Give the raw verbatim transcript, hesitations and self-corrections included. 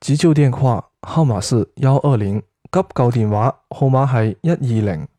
急救電話號碼是一二零，急救電話號碼係一二零。